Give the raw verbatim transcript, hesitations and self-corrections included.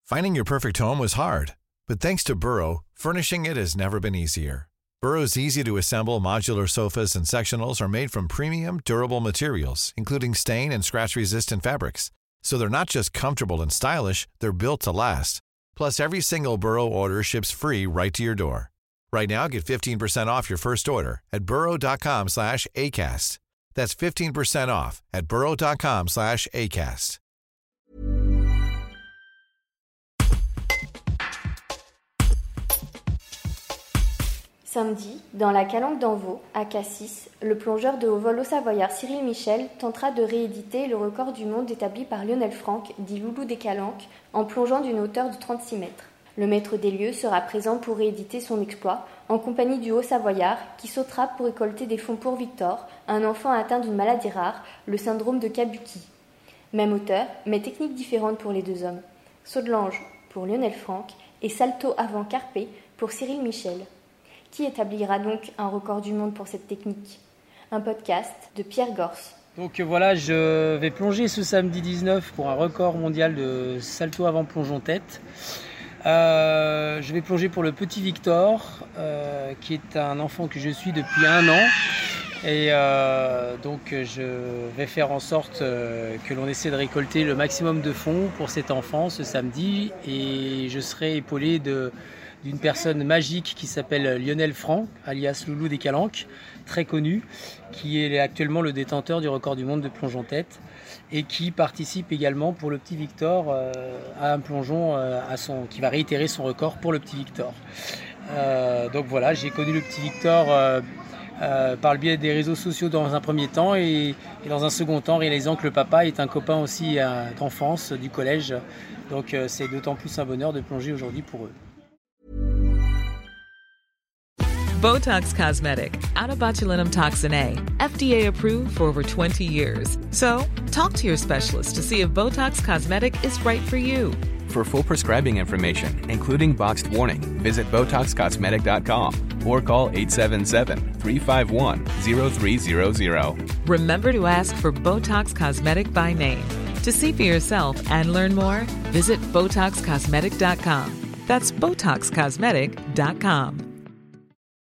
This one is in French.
Finding your perfect home was hard, but thanks to Burrow, furnishing it has never been easier. Burrow's easy-to-assemble modular sofas and sectionals are made from premium, durable materials, including stain and scratch-resistant fabrics. So they're not just comfortable and stylish, they're built to last. Plus, every single Burrow order ships free right to your door. Right now, get fifteen percent off your first order at burrow.com slash ACAST. That's fifteen percent off at burrow.com slash ACAST. Samedi, dans la Calanque d'Envaux, à Cassis, le plongeur de haut vol au Savoyard Cyril Michel tentera de rééditer le record du monde établi par Lionel Franck, dit Loulou des Calanques, en plongeant d'une hauteur de trente-six mètres. Le maître des lieux sera présent pour rééditer son exploit, en compagnie du Haut-Savoyard, qui sautera pour récolter des fonds pour Victor, un enfant atteint d'une maladie rare, le syndrome de Kabuki. Même hauteur, mais technique différente pour les deux hommes. Saut de l'ange pour Lionel Franck et salto avant carpé pour Cyril Michel. Qui établira donc un record du monde pour cette technique ? Un podcast de Pierre Gorce. Donc voilà, je vais plonger ce samedi dix-neuf pour un record mondial de salto avant plongeon tête. Euh, je vais plonger pour le petit Victor, euh, qui est un enfant que je suis depuis un an. Et euh, donc je vais faire en sorte euh, que l'on essaie de récolter le maximum de fonds pour cet enfant ce samedi. Et je serai épaulé de... d'une personne magique qui s'appelle Lionel Franck, alias Loulou des Calanques, très connu, qui est actuellement le détenteur du record du monde de plongeon tête et qui participe également pour le petit Victor euh, à un plongeon euh, à son, qui va réitérer son record pour le petit Victor. Euh, donc voilà, j'ai connu le petit Victor euh, euh, par le biais des réseaux sociaux dans un premier temps et, et dans un second temps réalisant que le papa est un copain aussi euh, d'enfance du collège. Donc euh, c'est d'autant plus un bonheur de plonger aujourd'hui pour eux. Botox Cosmetic, out of botulinum toxin A, F D A approved for over twenty years. So, talk to your specialist to see if Botox Cosmetic is right for you. For full prescribing information, including boxed warning, visit Botox Cosmetic dot com or call eight seven seven, three five one, zero three zero zero. Remember to ask for Botox Cosmetic by name. To see for yourself and learn more, visit Botox Cosmetic dot com. That's Botox Cosmetic dot com.